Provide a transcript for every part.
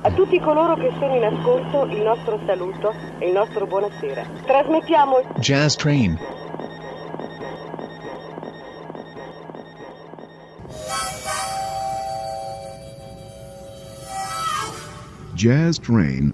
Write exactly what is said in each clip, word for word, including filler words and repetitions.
A tutti coloro che sono in ascolto il nostro saluto e il nostro buonasera. Trasmettiamo Jazz Train. Jazz Train.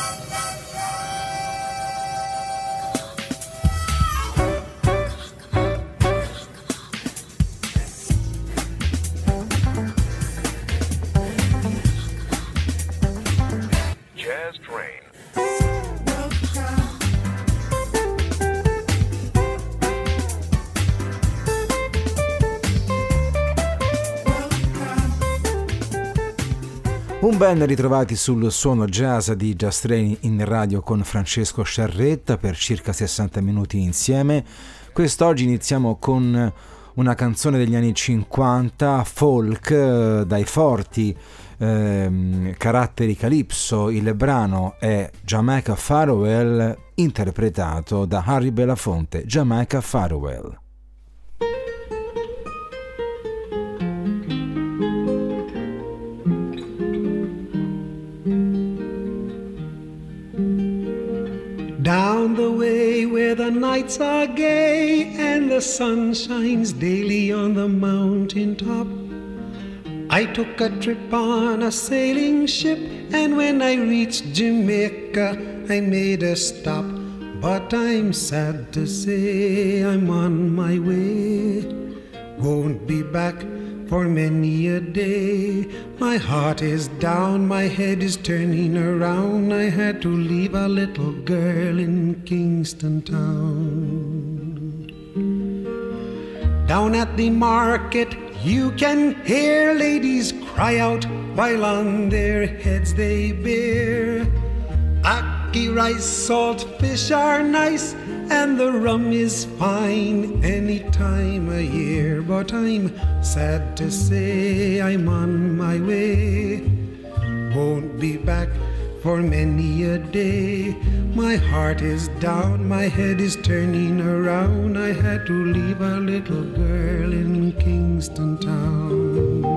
Un ben ritrovati sul suono jazz di Jazz Train in radio con Francesco Sciarretta per circa sessanta minuti insieme. Quest'oggi iniziamo con una canzone degli anni cinquanta, folk, dai forti ehm, caratteri calypso. Il brano è Jamaica Farewell, interpretato da Harry Belafonte. Jamaica Farewell. Down the way where the nights are gay and the sun shines daily on the mountain top, I took a trip on a sailing ship, and when I reached Jamaica I made a stop. But I'm sad to say I'm on my way, won't be back for many a day. My heart is down, my head is turning around. I had to leave a little girl in Kingston Town. Down at the market you can hear ladies cry out while on their heads they bear. Ackee rice, salt fish are nice, and the rum is fine any time of year. But I'm sad to say I'm on my way, won't be back for many a day. My heart is down, my head is turning around. I had to leave a little girl in Kingston Town.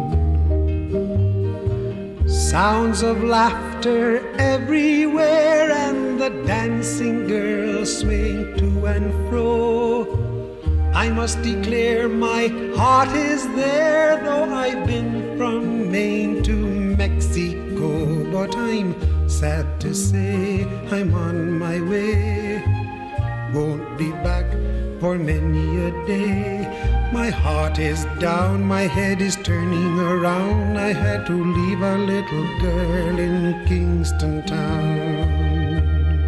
Sounds of laughter everywhere, and the dancing girls swing to and fro. I must declare my heart is there, though I've been from Maine to Mexico. But I'm sad to say I'm on my way, won't be back for many a day. My heart is down, my head is turning around. I had to leave a little girl in Kingston Town.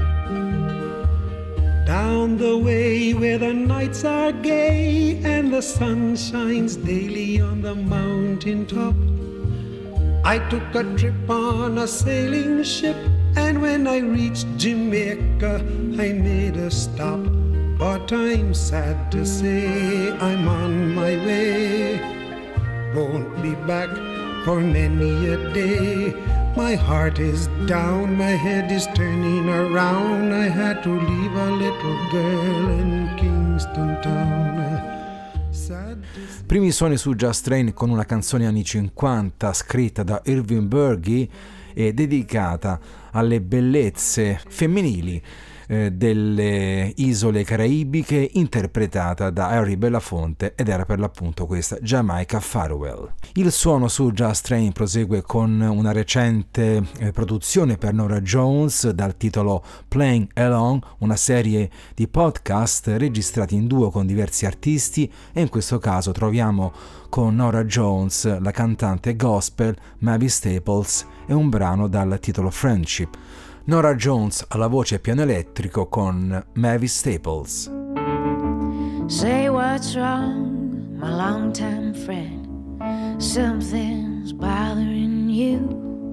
Down the way where the nights are gay and the sun shines daily on the mountain top, I took a trip on a sailing ship, and when I reached Jamaica I made a stop. But I'm sad to say I'm on my way, won't be back for many a day. My heart is down, my head is turning around. I had to leave a little girl in Kingston Town. Sad to say. Primi suoni su Jazz Train con una canzone anni cinquanta scritta da Irving Bergey e dedicata alle bellezze femminili delle isole caraibiche, interpretata da Harry Belafonte, ed era per l'appunto questa Jamaica Farewell. Il suono su Jazz Train prosegue con una recente eh, produzione per Norah Jones dal titolo Playing Along, una serie di podcast registrati in duo con diversi artisti, e in questo caso troviamo con Norah Jones la cantante gospel Mavis Staples e un brano dal titolo Friendship. Norah Jones alla voce e piano elettrico con Mavis Staples. Say what's wrong, my longtime friend. Something's bothering you.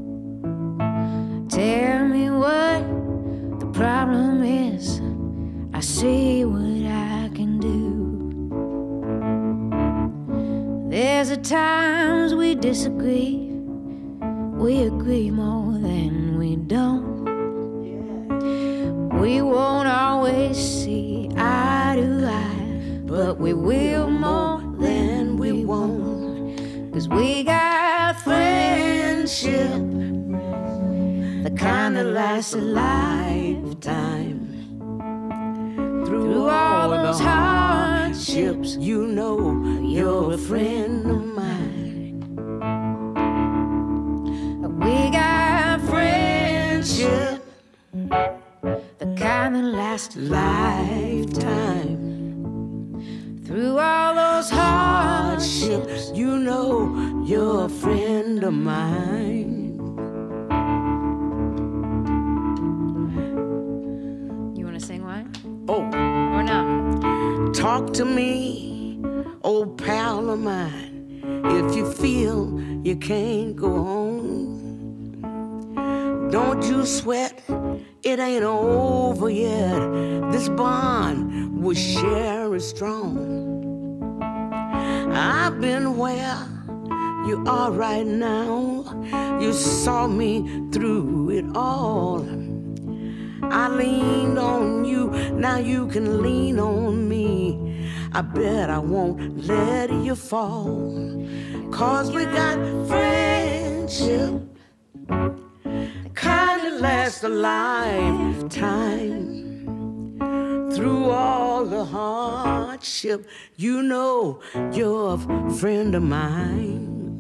Tell me what the problem is. I see what I can do. There's a times we disagree. We agree more than we don't. We won't always see eye to eye, but we will more than we won't. 'Cause we got friendship the kind that lasts a lifetime. Through all those hardships, you know you're a friend of mine. We got friendship, the kind that lasts a lifetime. Through all those hardships, you know you're a friend of mine. You want to sing one? Oh. Or no? Talk to me, old pal of mine, if you feel you can't go on. Don't you sweat, it ain't over yet. This bond we share is strong. I've been where you are right now. You saw me through it all. I leaned on you, now you can lean on me. I bet I won't let you fall. Cause we got friendship, kind that lasts a lifetime. Through all the hardship, you know you're a friend of mine.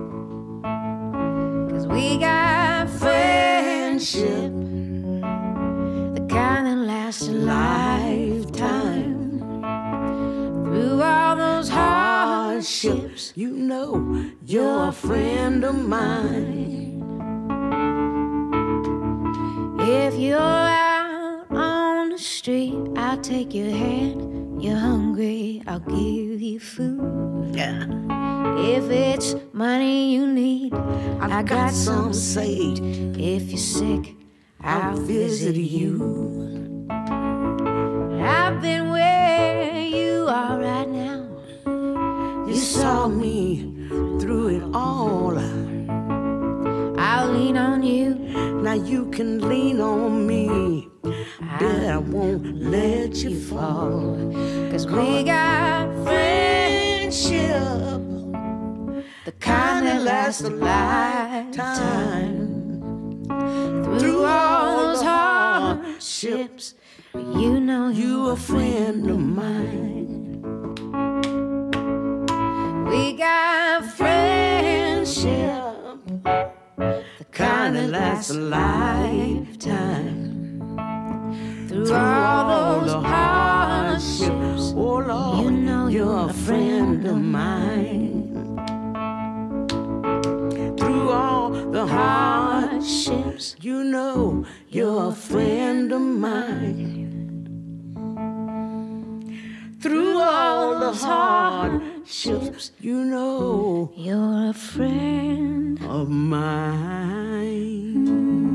Cause we got friendship, the kind that lasts a lifetime. Through all those hardships, you know you're a friend of mine. If you're out on the street, I'll take your hand. You're hungry, I'll give you food. Yeah. If it's money you need, I've I got got some saved. If you're sick, I'll I'll visit visit you. you. I've been where you are right now. You saw me through it all. I'll lean on you. Now you can lean on me. Bet I won't let you fall. Cause we got friendship, the kind that lasts a lifetime. Through all those hardships, you know you a friend of mine. We got friendship, the kind that lasts a lifetime. Through all those hardships, oh Lord, you know you're a friend of mine. Through all the hardships, you know you're a friend of mine. Through all the hardships, you know you're a friend of mine.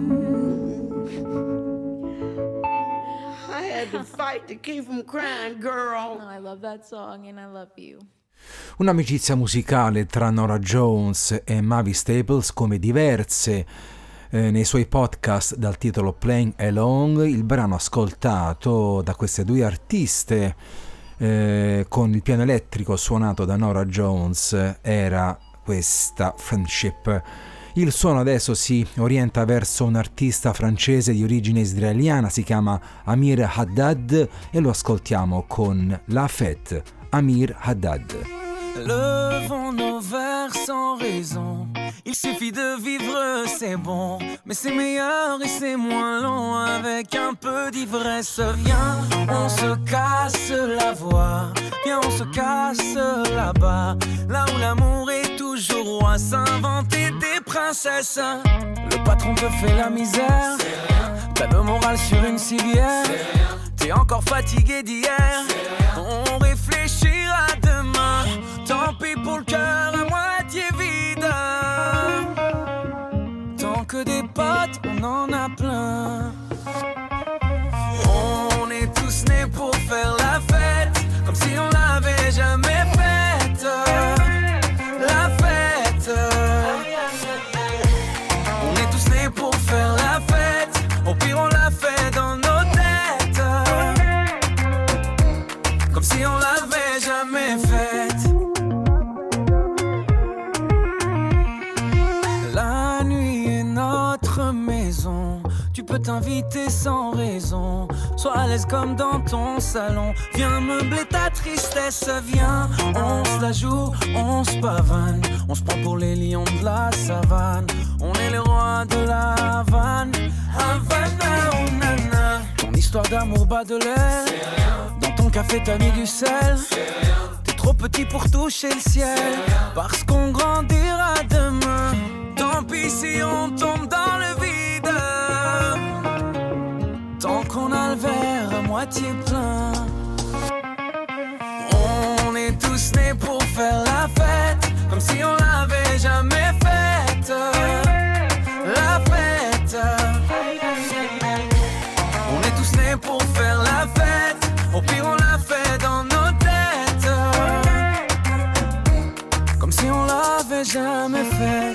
I had to fight to keep from crying, girl. Oh, I love that song and I love you. Un'amicizia musicale tra Norah Jones e Mavis Staples, come diverse eh, nei suoi podcast dal titolo Playing Along. Il brano ascoltato da queste due artiste eh, con il piano elettrico suonato da Norah Jones era questa Friendship. Il suono adesso si orienta verso un artista francese di origine israeliana, si chiama Amir Haddad e lo ascoltiamo con La Fête. Amir Haddad. Levons nos verres sans raison. Il suffit de vivre, c'est bon. Mais c'est meilleur et c'est moins long avec un peu d'ivresse. Viens, on se casse la voix. Viens, on se casse là-bas. Là où l'amour est toujours roi. S'inventer des princesses. Le patron te fait la misère. T'as le moral sur une civière. T'es encore fatigué d'hier. On réfléchira demain. Tant pis pour le cœur à moitié vide. Tant que des potes, on en a plein. On est tous nés pour faire la fête, comme si on l'avait jamais faite. La fête. On est tous nés pour faire la fête. Au pire on la fait dans nos têtes, comme si on l'avait jamais faite. La nuit est notre maison. peut t'inviter sans raison. Sois à l'aise comme dans ton salon. Viens meubler ta tristesse, viens. On se la joue, on se pavane. On se prend pour les lions de la savane. On est les rois de la Havane. Havana, oh nana. Ton histoire d'amour bat de l'air. Dans ton café t'as mis du sel. T'es trop petit pour toucher le ciel. Parce qu'on grandira demain. Tant pis si on tombe dans le vide. Tant qu'on a le verre à moitié plein. On est tous nés pour faire la fête. Comme si on l'avait jamais faite. La fête. On est tous nés pour faire la fête. Au pire on l'a fait dans nos têtes. Comme si on l'avait jamais faite.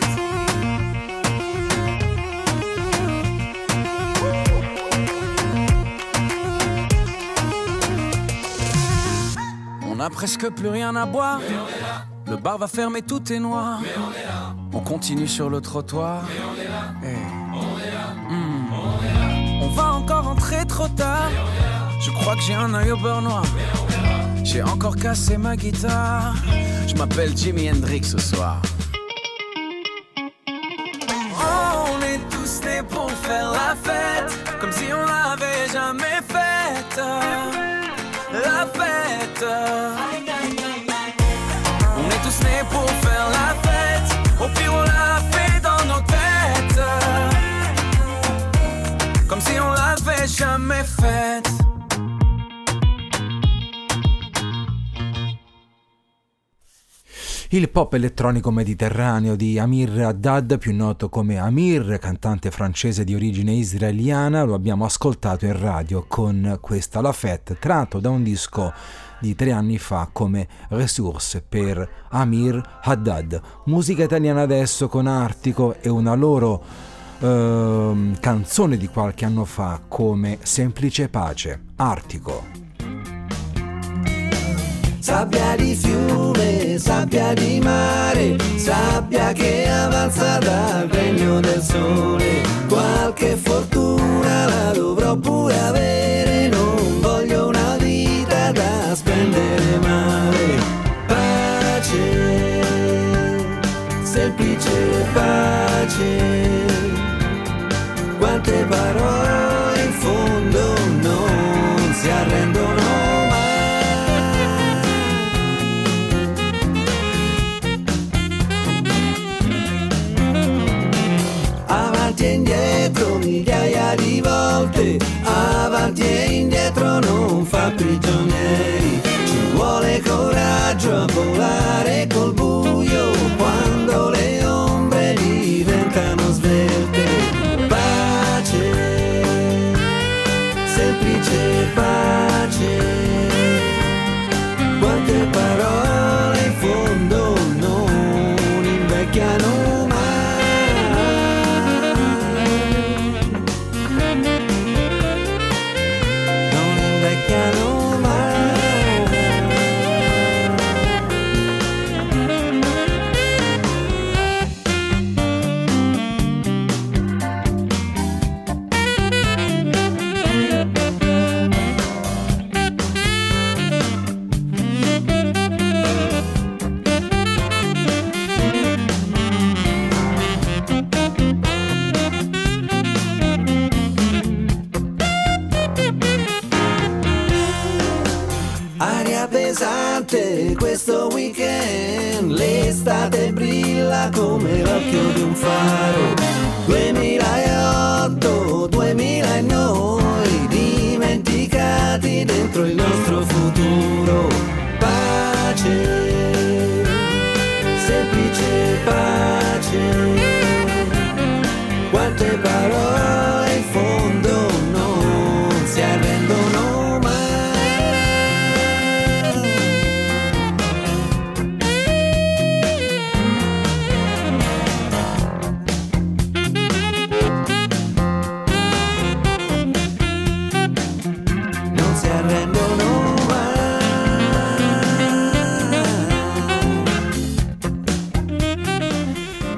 On a presque plus rien à boire. Le bar va fermer, tout est noir. On, on continue sur le trottoir. On, hey. on, mmh. on va encore entrer trop tard. Je crois que j'ai un œil au beurre noir. J'ai encore cassé ma guitare. Je m'appelle Jimi Hendrix ce soir. Oh, on est tous nés pour faire la fête. Comme si on l'avait jamais faite. La fête. On est tous nés pour faire la fête. Au pire on l'a fait dans nos têtes. Comme si on l'avait jamais faite. Il pop elettronico mediterraneo di Amir Haddad, più noto come Amir, cantante francese di origine israeliana, lo abbiamo ascoltato in radio con questa La Fête, tratto da un disco di tre anni fa come Ressources per Amir Haddad. Musica italiana adesso con Artico e una loro eh, canzone di qualche anno fa come Semplice Pace. Artico. Sabbia di fiume, sabbia di mare, sabbia che avanza dal regno del sole. Qualche fortuna la dovrò pure avere, non voglio una vita da spendere male. Pace, semplice pace, quante parole in fondo non si arrendono mai. Avanti e indietro migliaia di volte, avanti e indietro non fa prigionieri. Ci vuole coraggio a volare col buio quando le ombre diventano svelte. Pace, semplice pace, quante parole in fondo non invecchiano mai. Questo weekend l'estate brilla come l'occhio di un faro. duemilaotto, duemila e noi dimenticati dentro il nostro futuro. Pace, semplice pace, quante parole in fondo non si arrendono mai.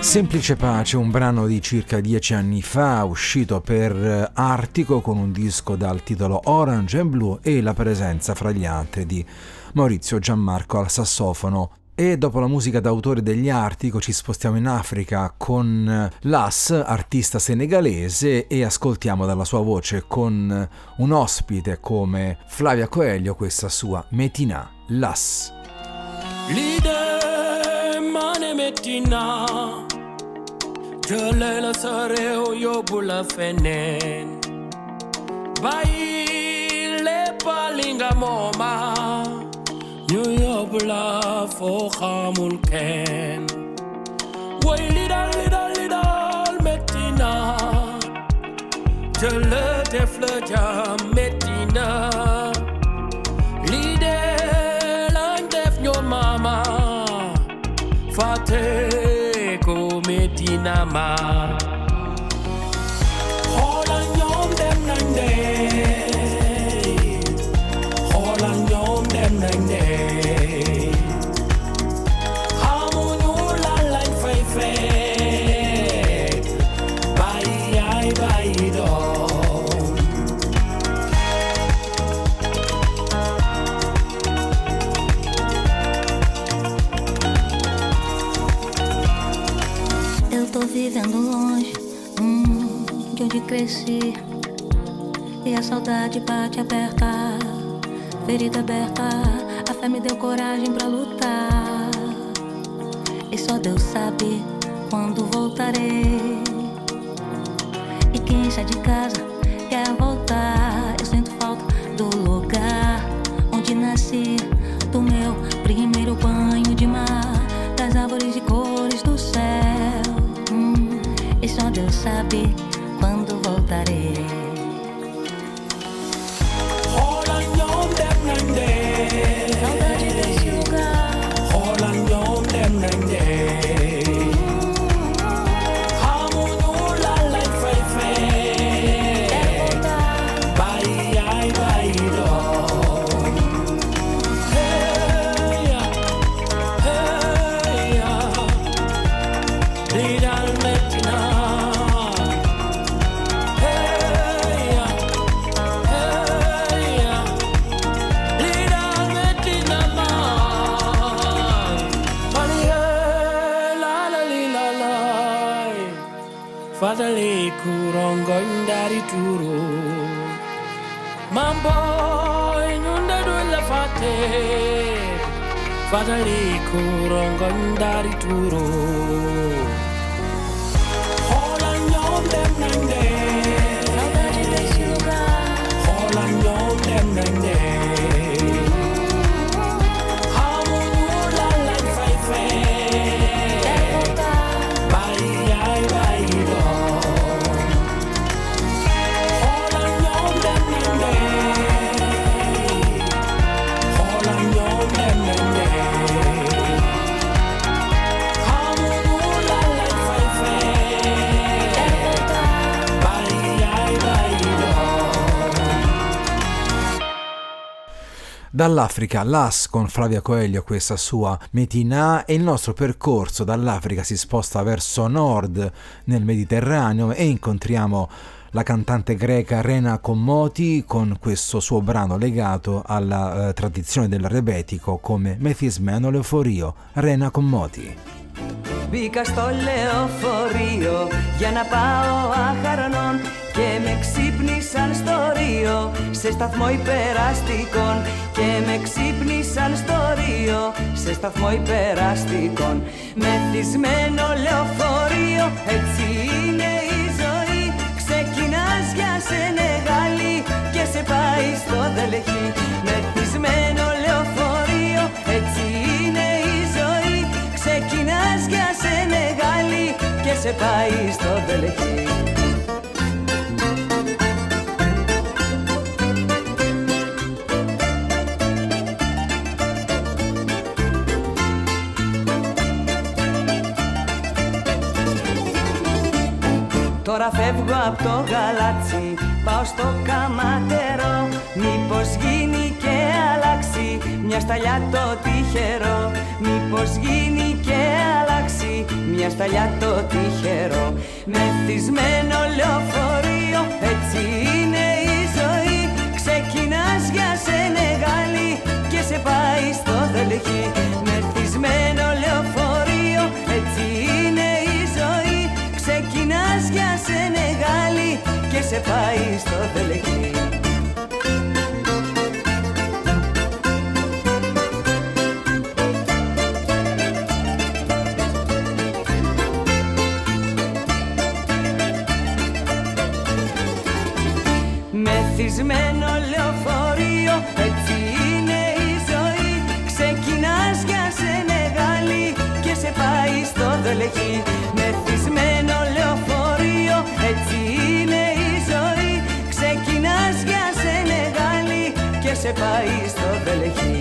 Semplice Pace, un brano di circa dieci anni fa, uscito per Artico con un disco dal titolo Orange and Blue e la presenza fra gli altri di Maurizio Gianmarco al sassofono. E dopo la musica d'autore degli Artico ci spostiamo in Africa con Lass, artista senegalese, e ascoltiamo dalla sua voce con un ospite come Flavia Coelho questa sua Metina, Lass. Leader, mane Metina, Jolela sareo yobula fenen, Bai le palinga moma, New yobula fo khamul ken. Way leader, leader, leader Metina, Jole defleja Metina, Leader lang def nyo mama, Fate ko Metina ma. Holan yom dem nang day, Holan yom dem nang day. Hamunyu la lang fei fei, Bai ai bai do. Tô vivendo longe, hum, de onde cresci, e a saudade bate aberta, ferida aberta, a fé me deu coragem pra lutar, e só Deus sabe quando voltarei, e quem sai de casa quer voltar, eu sinto falta do lugar onde nasci, do meu primeiro banho de mar, das árvores de cores do céu. E só Deus sabe quando voltarei. Holan yom dem nang day, Saudade desse lugar. Holan yom dem nang day. Hamunyu la lang fei fei, Bai ai bai do. Hey ya, hey ya, Leader Metina. Fadali kurongon dari turu, Mambo inunda dulla fate. Fadali kurongon dari turu, Holan yom dem nang day, Saudade desse lugar. Holan yom dem nang day. Hamunyu la lang fei fei, Bai ai bai do. Holan yom dem nang day, Holan yom dem nang day. Hamunyu la lang fei fei, Bai ai bai do. Dall'Africa, Lass con Flavia Coelho, questa sua Metina, e il nostro percorso dall'Africa si sposta verso nord nel Mediterraneo e incontriamo la cantante greca Rena Commoti con questo suo brano legato alla eh, tradizione del rebetico come Μεθυσμένο λεωφορείο. Rena Commoti. Μπήκα στο λεωφορείο για να πάω αχαρανών και με ξύπνησαν στο Ρίο σε σταθμό υπεραστικών και με ξύπνησαν στο Ρίο σε σταθμό υπεραστικών. Μεθυσμένο λεωφορείο, έτσι είναι η ζωή. Ξεκινάς για Σενεγάλη και σε πάει στο Δελεχή. Μεθυσμένο λεωφορείο, έτσι είναι η ζωή. Ξεκινάς για Σενεγάλη και σε πάει στο Δελεχή. Τώρα φεύγω από το γαλάτσι, πάω στο Καματερό. Μήπως γίνει και αλλάξει μια σταλιά το τυχερό. Μήπως γίνει και αλλάξει δώσει μια σταλιά το τυχερό. Μεθυσμένο λεωφορείο, έτσι είναι η ζωή. Ξεκινάς για Σενεγάλη και σε πάει στο Δελχή. Μεθυσμένο λεωφορείο, έτσι είναι η ζωή. Ξεκινάς για Σενεγάλη και σε πάει στο Δελχή. Μεθυσμένο λεωφορείο, έτσι είναι η ζωή. Ξεκινάς για Σενεγάλη και σε πάει στο Δελχή. Μεθυσμένο λεωφορείο, έτσι είναι η ζωή. Ξεκινάς για Σενεγάλη και σε πάει στο Δελχή.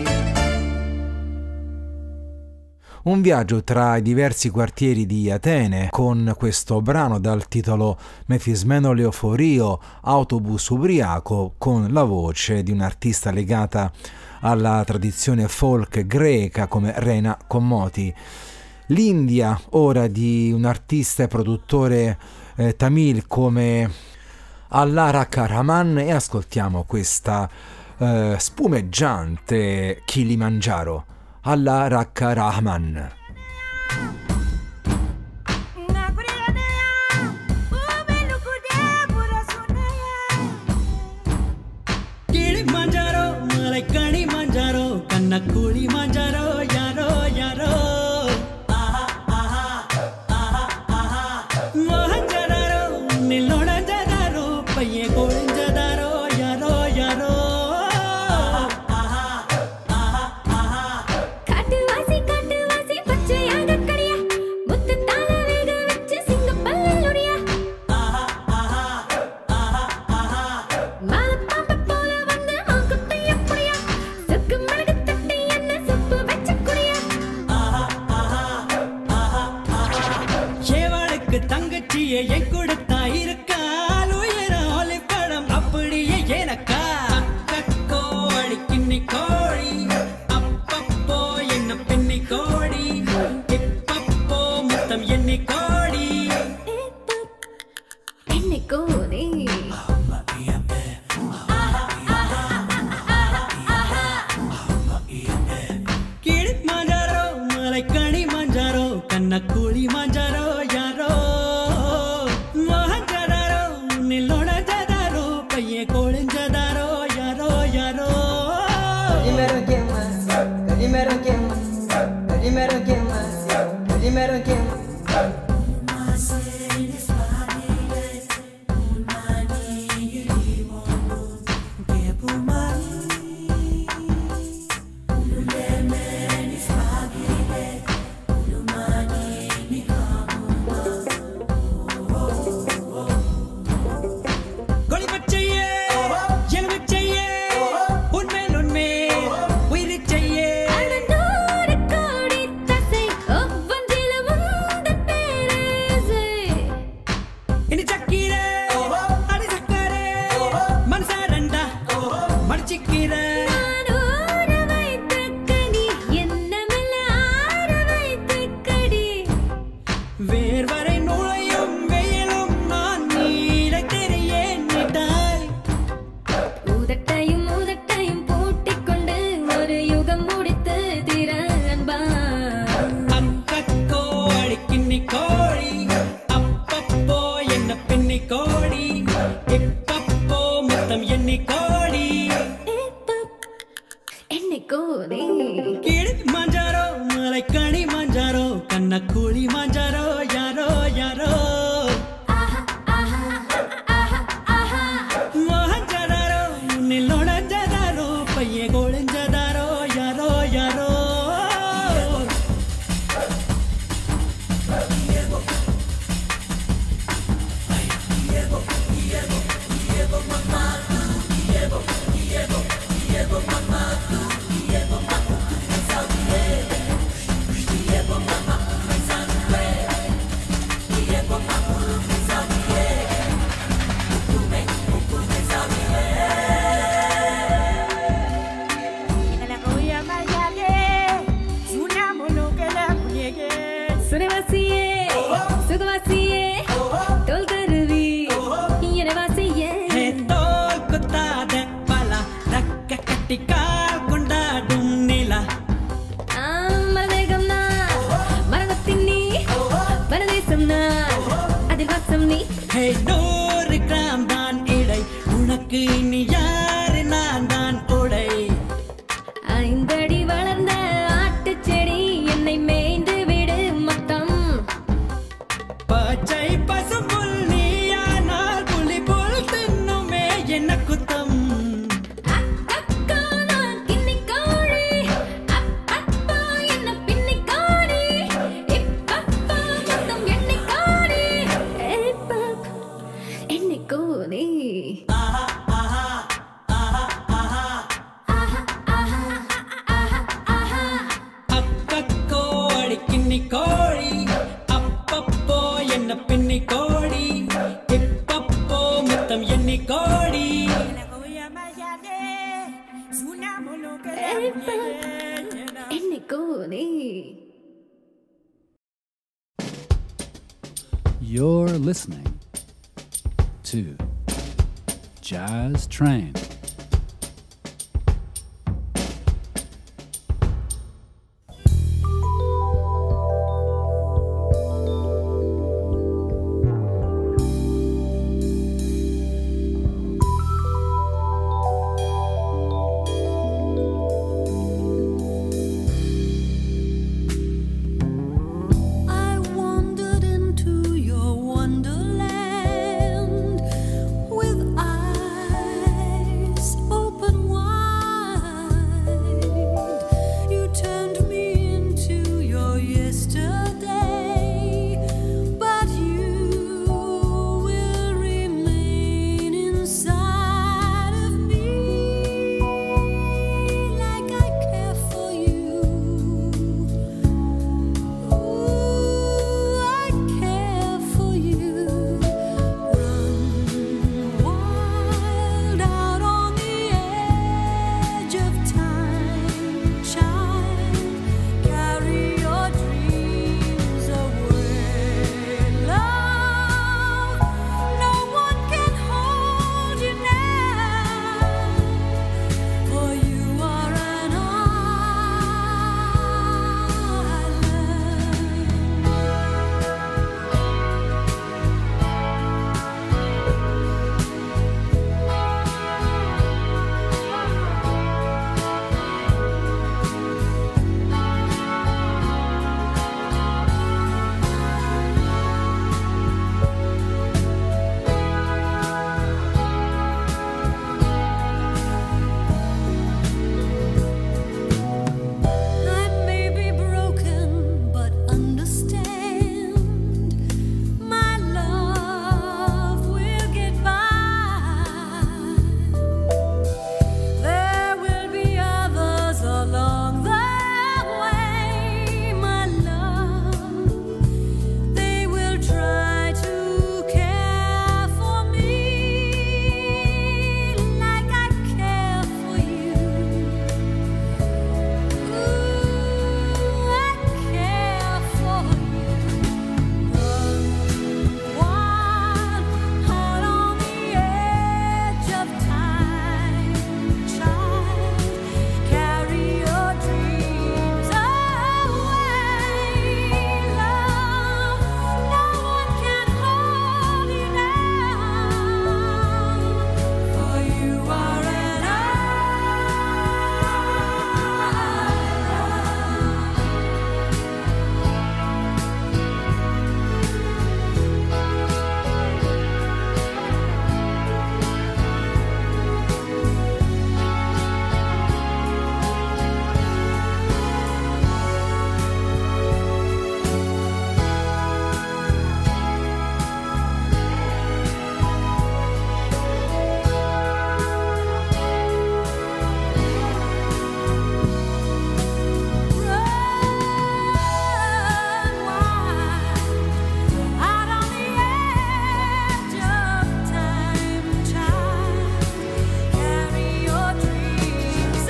Un viaggio tra i diversi quartieri di Atene con questo brano dal titolo Mefismeno Leoforio, autobus ubriaco, con la voce di un'artista legata alla tradizione folk greca come Rena Commoti. L'India ora di un artista e produttore eh, tamil come Allah Rakha Rahman, e ascoltiamo questa eh, spumeggiante Kilimangiaro. Allah Rakha Rahman. Kilimanjaro, malai Kilimanjaro, kanna Kilimanjaro, yaro yaro. Aha aha aha aha. Mohanjaro, nilonanjaro, paiye kolinjaro, yaro yaro. என் கொடுத்தா இருக்கால் உயர ஒலி படம் அப்படியே எனக்கா கோழி கிண்ணி கோழி அப்பப்போ என்ன பெண்ணி கோடி இப்பப்போ முத்தம் எண்ணி கோடி என்னை கோடி கிளிமாஞ்சாரோ மலை கனிமாஞ்சாரோ கண்ண குளிமாஞ்சாரோ யாரோ உடை நூறு கிராம் தான் இடை உனக்கு இனி யாரு நான் தான் உடை ஐந்தடி வளர்ந்த ஆட்டுச்செடி என்னை மேய்ந்து விடு மொத்தம் பச்சை பசும்புல் நீயானால் புலி புல் தின்னுமே என்ன குத்தம் அக்கா நான் கிண்ணி கோழி அப்பப்பா என்ன பின்னி கோழி இப்பப்பா மொத்தம் எண்ணி கோழி இப்பப்பா எண்ணி கோழி அக்கக்கோ அடிக்கிண்ணி கோழி அப்பப்போ என்ன பின்னி கோழி இப்பப்போ முத்தம் எண்ணி கோழி எண்ணி கோழி. You're listening to Jazz Train. I wandered into your wonderland with eyes open wide. You turned me into your yesterday, but you will remain inside of me like I care for you. Ooh, I care for you. Run wild out on the edge of time, child. Carry your dreams away, love. No one can hold you now, for you are an I may be broken, but understand, my love will get by. There will be others along the way, my love. They will try to care for me like I care for you. Ooh, I care for you. Run wild out on the edge of time, child. Carry your dreams away, love. No one can hold you now, for you are an out on the edge of time, child. Carry your dreams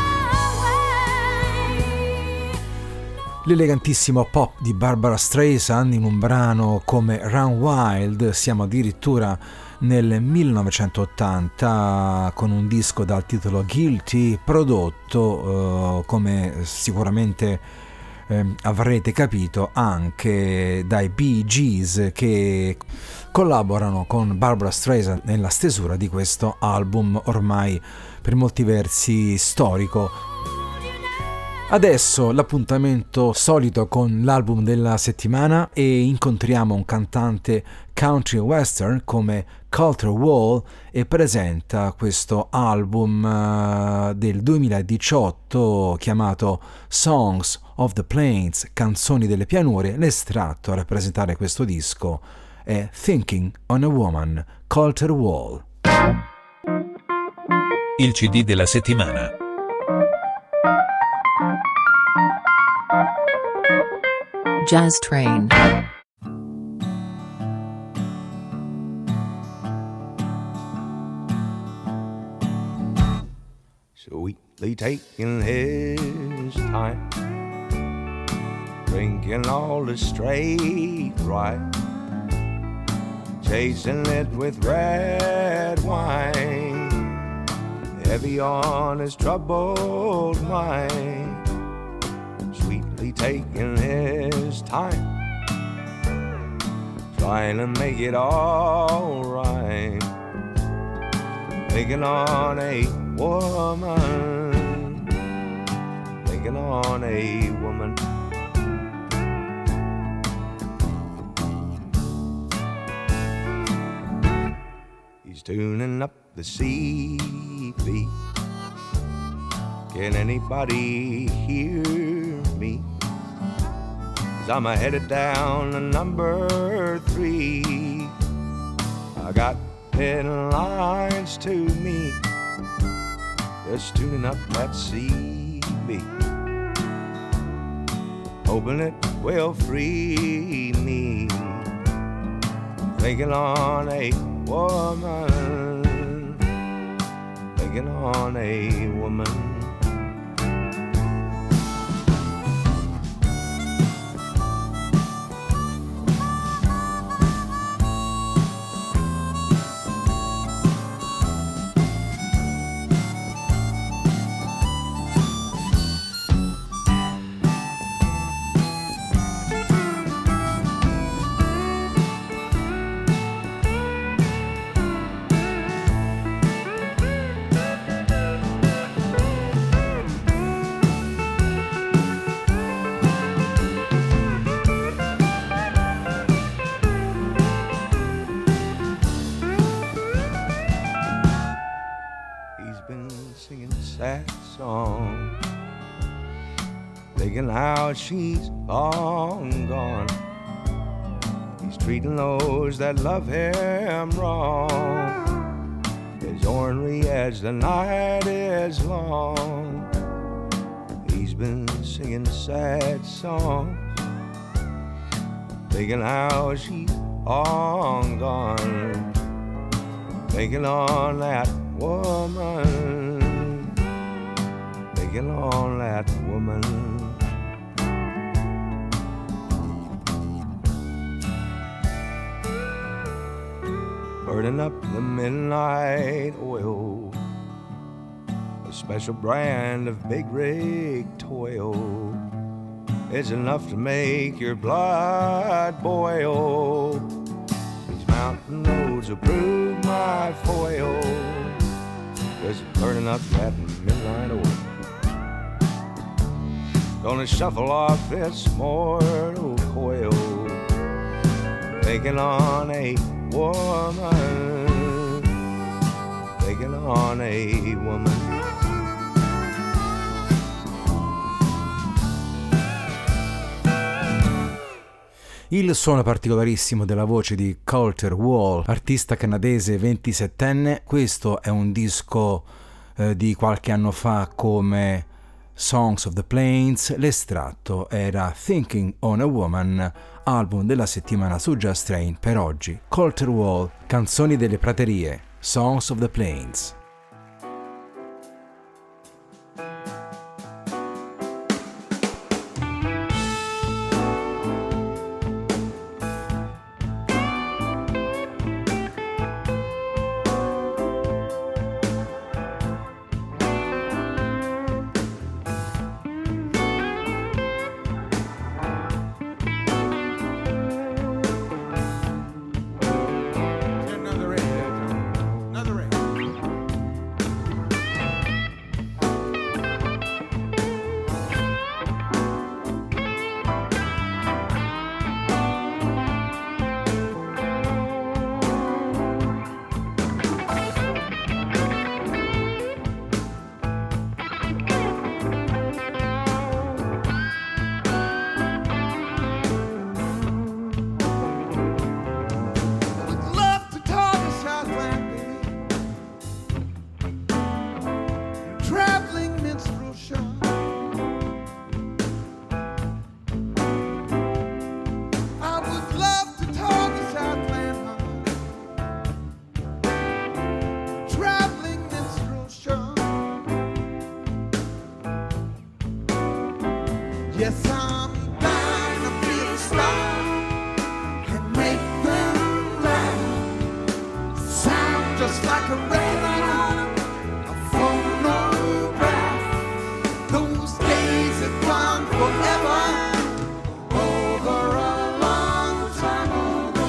away. L'elegantissimo pop di Barbara Streisand in un brano come Run Wild. Siamo addirittura nel millenovecentottanta con un disco dal titolo Guilty, prodotto eh, come sicuramente eh, avrete capito, anche dai Bee Gees, che collaborano con Barbra Streisand nella stesura di questo album ormai per molti versi storico. Adesso l'appuntamento solito con l'album della settimana, e incontriamo un cantante country western come Colter Wall, e presenta questo album uh, del duemiladiciotto chiamato Songs of the Plains, canzoni delle pianure. L'estratto a rappresentare questo disco è Thinking on a Woman, Colter Wall. Il C D della settimana. Jazz Train. Sweetly taking his time, drinking all the straight right, chasing it with red wine, heavy on his troubled mind. Sweetly taking his time, trying to make it all right, thinking on a woman, thinking on a woman. He's tuning up the C B. Can anybody hear me? 'Cause I'm headed down to number three. I got ten lines to me, just tuning up that C B, hoping it will free me, thinking on a woman, thinking on a woman. Sad song, thinking how she's long gone. He's treating those that love him wrong, as ornery as the night is long. He's been singing sad songs, thinking how she's long gone, thinking on that woman, thinking on that woman. Burning up the midnight oil, a special brand of big rig toil. It's enough to make your blood boil. These mountain roads will prove my foil, 'cause it's burning up that midnight oil. Gonna shuffle off this mortal coil, taking on a woman, taking on a woman. Il suono particolarissimo della voce di Colter Wall, artista canadese ventisettenne. Questo è un disco eh, di qualche anno fa come Songs of the Plains. L'estratto era Thinking on a Woman, album della settimana su Jazz Train per oggi. Colter Wall, canzoni delle praterie, Songs of the Plains. just like a record, a phonograph. Those days are gone forever. Over a long time ago.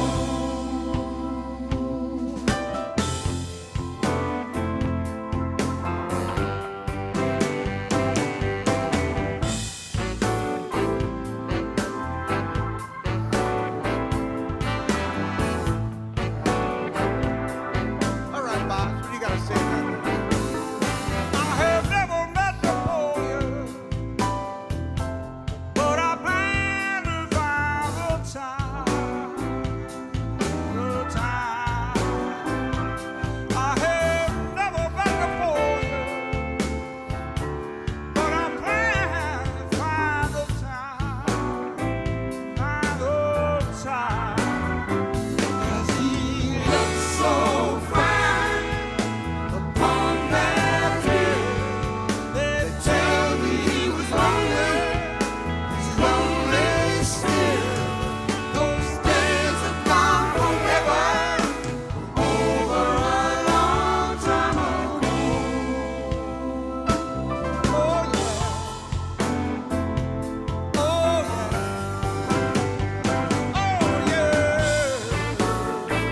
All right, Bob, what do you gotta say about that? I have never met Napoleon, but I plan to find the time, the time. I have never met Napoleon, but I plan to find the time, find the time. 'Cause he looks so fine upon that hill. They tell me he was lonely, he's lonely still. Those days are gone forever, over a long time ago. Oh yeah, oh yeah, oh yeah.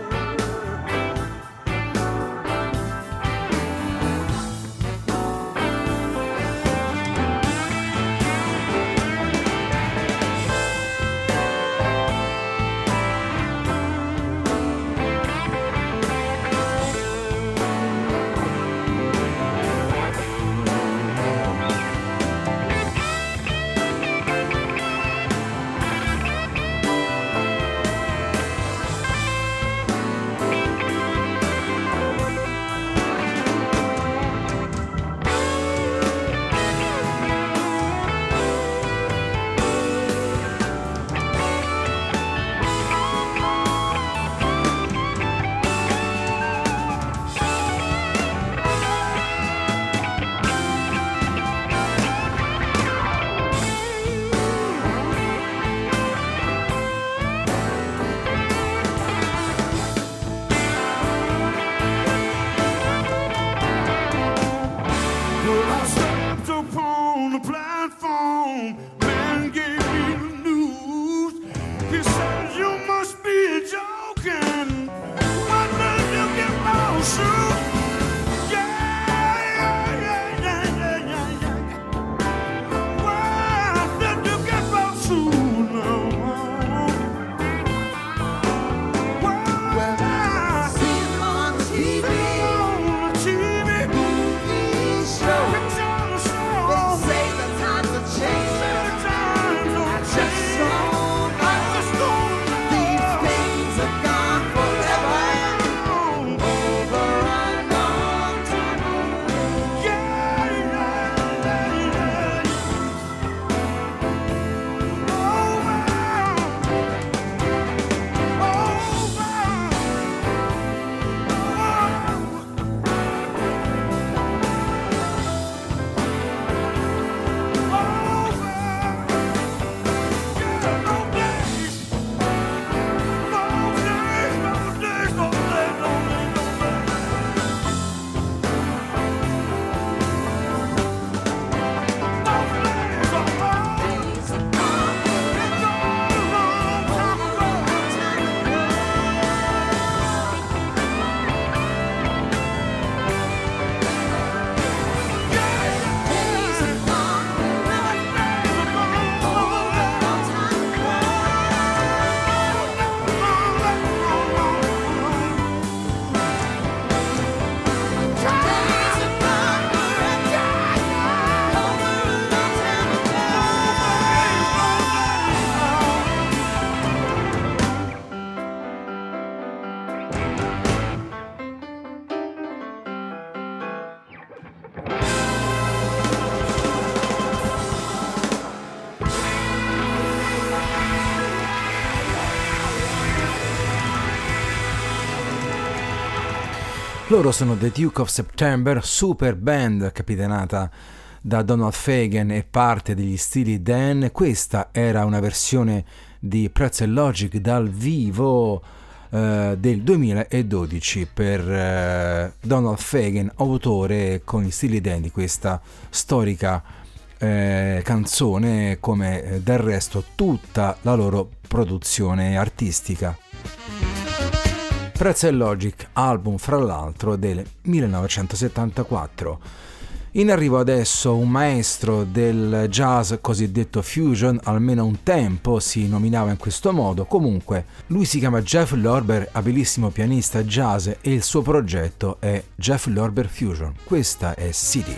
Well, I stepped upon the platform, man gave me the news. He said, you must be joking. Why did you get my shoe? Yeah, yeah, yeah, yeah, yeah, yeah, yeah. Why did you get my shoe now? Well, I see him on T V. On T V. Movie show. They say the times have changed. I just don't know. These days are gone forever. Over a long time ago. Yeah, yeah, yeah, yeah. Loro sono The Duke of September, super band capitanata da Donald Fagen e parte degli Steely Dan. Questa era una versione di Pretzel Logic dal vivo eh, del duemiladodici per eh, Donald Fagen, autore con gli stili Dan di questa storica eh, canzone, come eh, del resto tutta la loro produzione artistica. Pretzel Logic, album fra l'altro del millenovecentosettantaquattro. In arrivo adesso un maestro del jazz cosiddetto fusion, almeno un tempo si nominava in questo modo. Comunque lui si chiama Jeff Lorber, abilissimo pianista jazz, e il suo progetto è Jeff Lorber Fusion. Questa è City.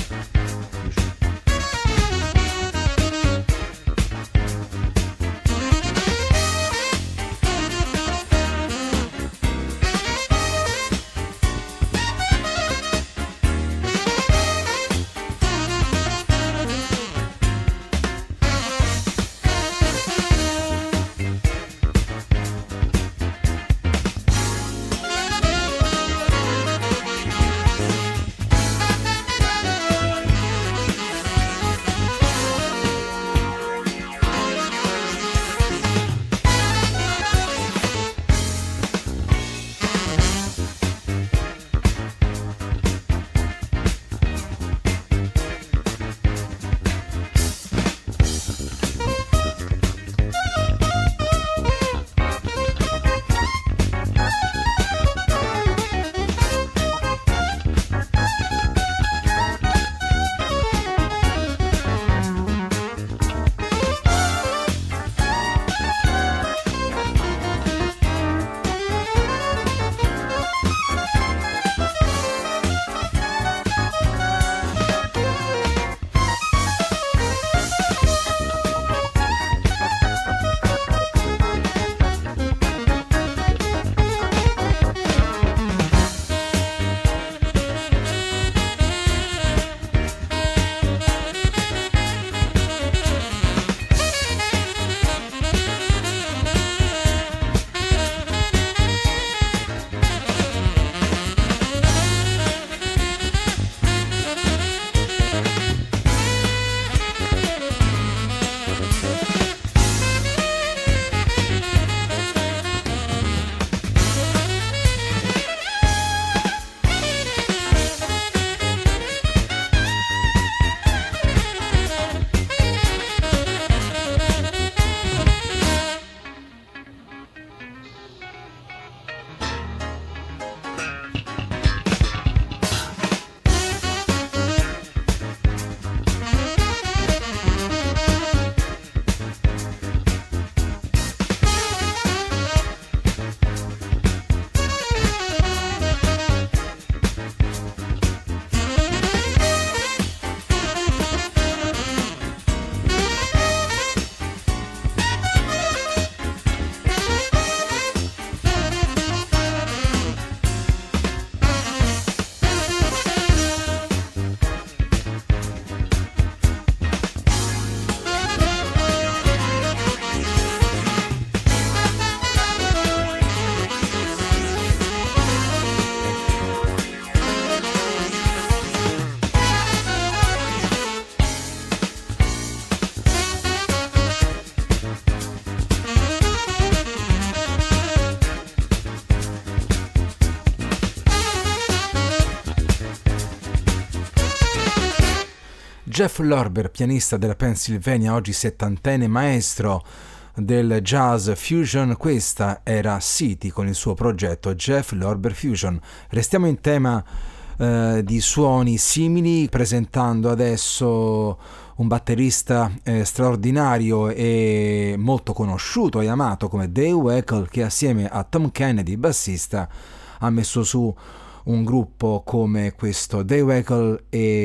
Jeff Lorber, pianista della Pennsylvania, oggi settantenne, maestro del jazz fusion. Questa era City con il suo progetto Jeff Lorber Fusion. Restiamo in tema eh, di suoni simili, presentando adesso un batterista eh, straordinario e molto conosciuto e amato come Dave Weckl, che assieme a Tom Kennedy, bassista, ha messo su un gruppo come questo Dave Weckl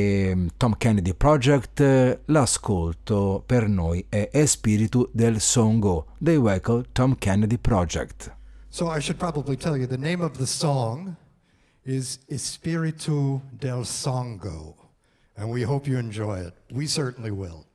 e Tom Kennedy Project. L'ascolto per noi è Espiritu del Songo, Dave Weckl, Tom Kennedy Project. So I should probably tell you the name of the song is Espiritu del Songo, and we hope you enjoy it. We certainly will.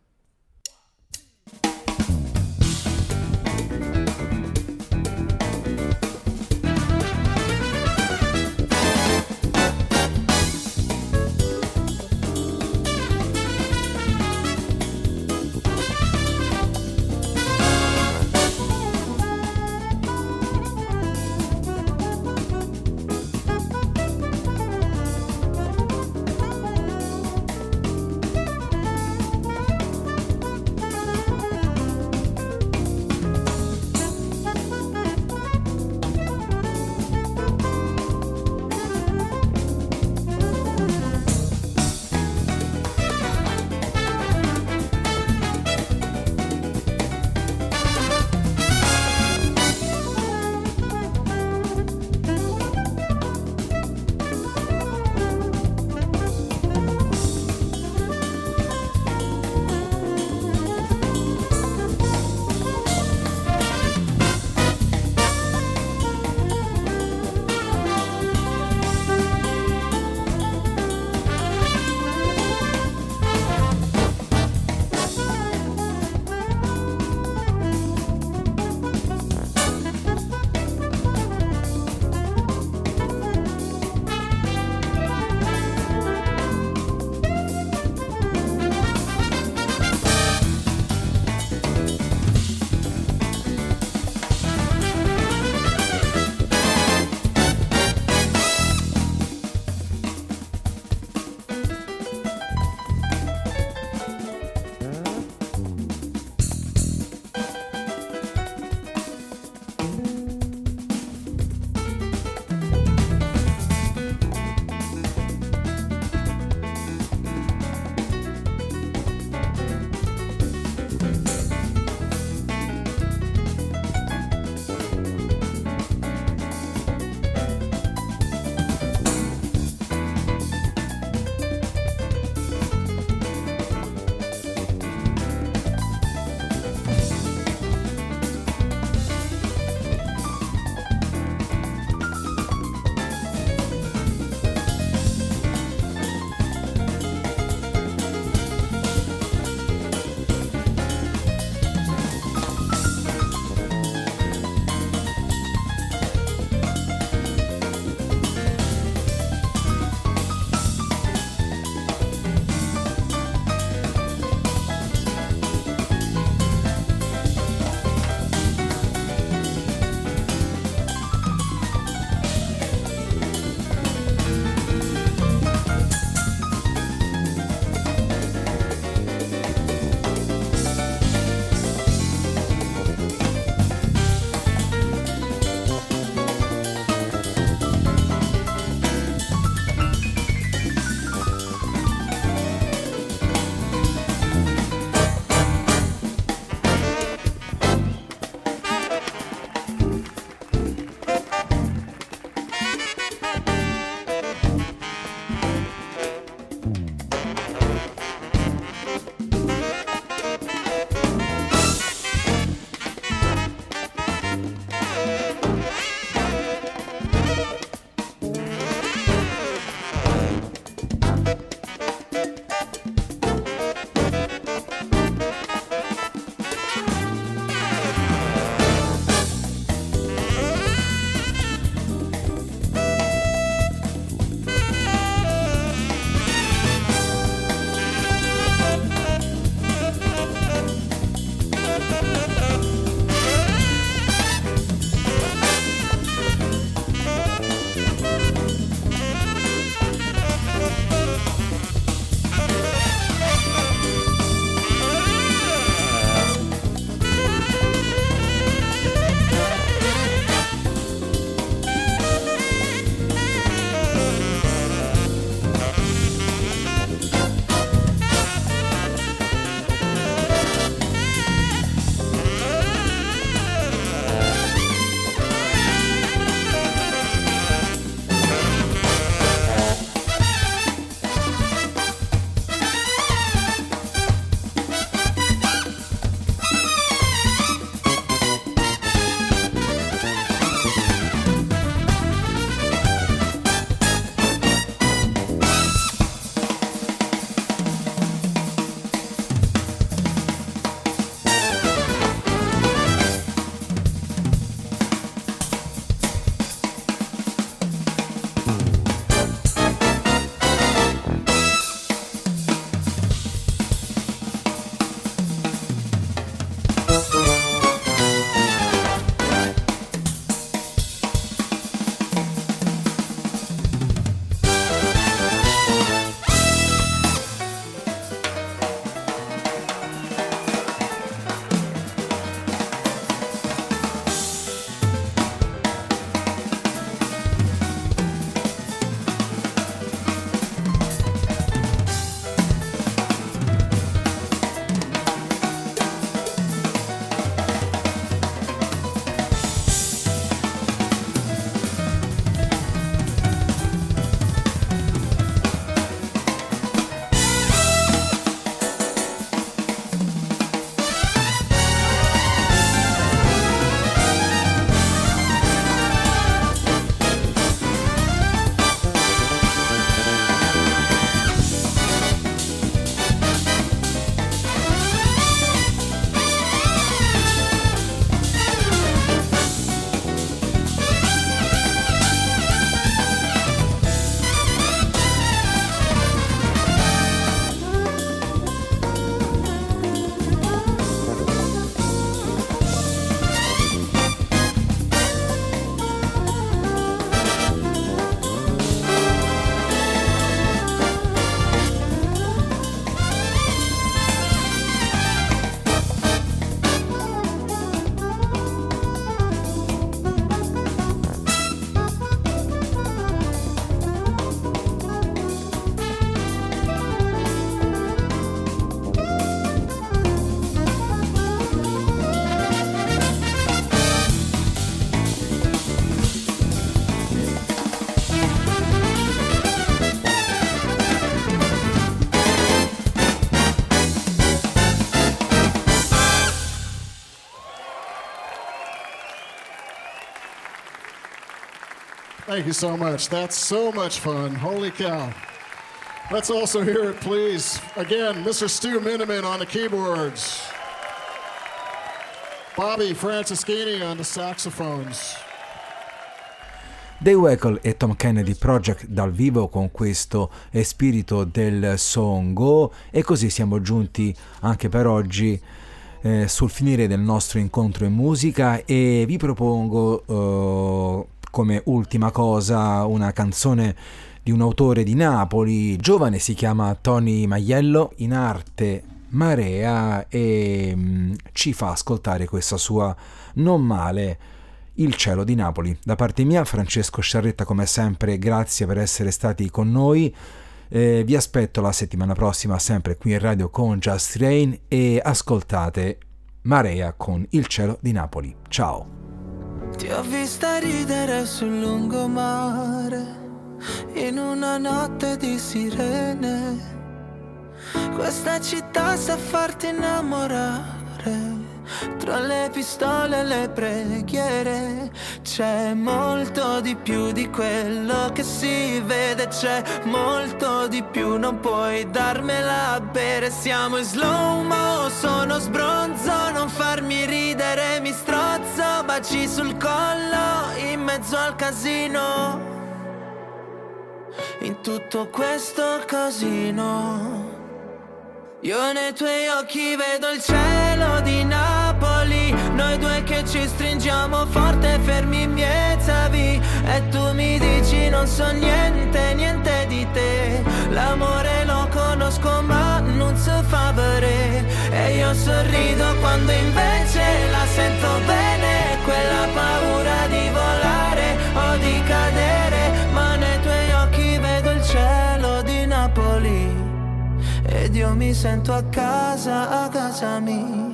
Thank you so much. That's so much fun. Holy cow. Let's also hear it, please. Again, Mister Stu Miniman on the keyboards. Bobby Franceschini on the saxophones. Dave Weckl e Tom Kennedy Project dal vivo con questo spirito del songo, e così siamo giunti anche per oggi eh, sul finire del nostro incontro in musica, e vi propongo eh, come ultima cosa una canzone di un autore di Napoli, giovane, si chiama Tony Maiello, in arte Marea, e mh, ci fa ascoltare questa sua Non male, Il cielo di Napoli. Da parte mia, Francesco Sciarretta, come sempre, grazie per essere stati con noi. Eh, vi aspetto la settimana prossima, sempre qui in radio con Just Train, e ascoltate Marea con Il cielo di Napoli. Ciao. Ti ho vista ridere sul lungomare, in una notte di sirene. Questa città sa farti innamorare, tra le pistole e le preghiere. C'è molto di più di quello che si vede, c'è molto di più, non puoi darmela a bere. Siamo in slow-mo, sono sbronzo, non farmi ridere, mi strozzo, baci sul collo, in mezzo al casino. In tutto questo casino io nei tuoi occhi vedo il cielo di Napoli, noi due che ci stringiamo forte, fermi miezzavi, e tu mi dici non so niente, niente di te. L'amore lo conosco ma non si fa vedere, e io sorrido quando invece la sento bene, quella paura di volare o di cadere. Ma nei tuoi occhi vedo il cielo di Napoli, ed io mi sento a casa, a casa mia.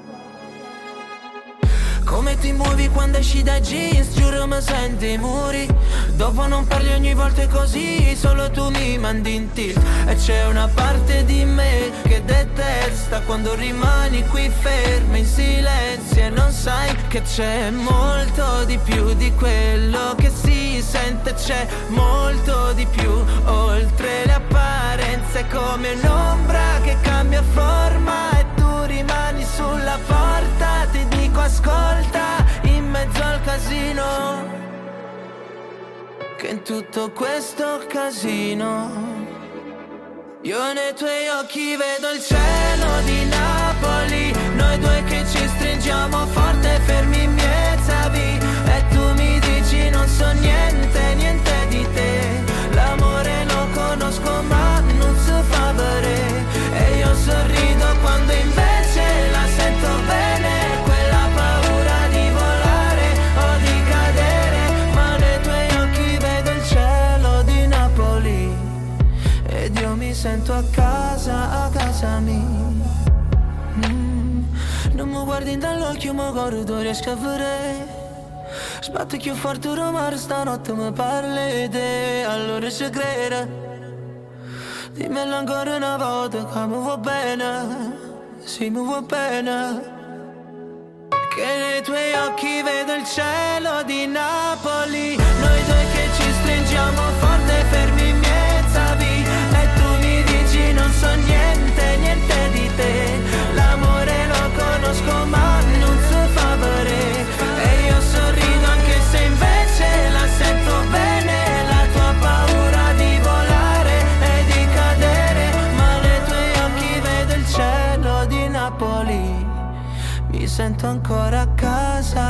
Come ti muovi quando esci dai jeans, giuro mi senti i muri. Dopo non parli ogni volta così, solo tu mi mandi in tilt. E c'è una parte di me che detesta quando rimani qui ferma in silenzio, e non sai che c'è molto di più di quello che si sente. C'è molto di più, oltre le apparenze, come un'ombra che cambia forma e tu rimani sulla porta. Ti dico ascolta, in mezzo al casino, che in tutto questo casino io nei tuoi occhi vedo il cielo di Napoli, noi due che ci stringiamo forte, fermi miezzavi, e tu mi dici non so niente, niente di te. L'amore lo conosco ma non si fa vedere, e io sorrido quando invece la sento bene, quella paura di volare o di cadere. Ma nei tuoi occhi vedo il cielo di Napoli, ed io mi sento a casa, a casa mia. Mm. Non mi guardi dall'occhio, ma guardo, riesco a vedere. Sbatto più forte rumore, stanotte mi parli di te, allora ci credo. Dimmelo ancora una volta che mi va bene, sì mi va bene. Che nei tuoi occhi vedo il cielo di Napoli, noi due che ci stringiamo forte, fermi miezzavi, e tu mi dici non so niente, niente di te. L'amore lo conosco ma non si fa vedere, e io sorrido anche se invece la sento bene, la tua paura di volare e di cadere. Ma nei tuoi occhi vedo il cielo di Napoli, mi sento ancora a casa,